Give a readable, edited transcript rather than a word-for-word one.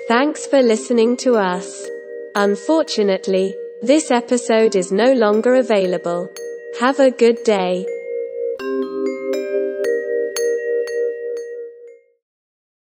Thanks for listening to us. Unfortunately, this episode is no longer available. Have a good day.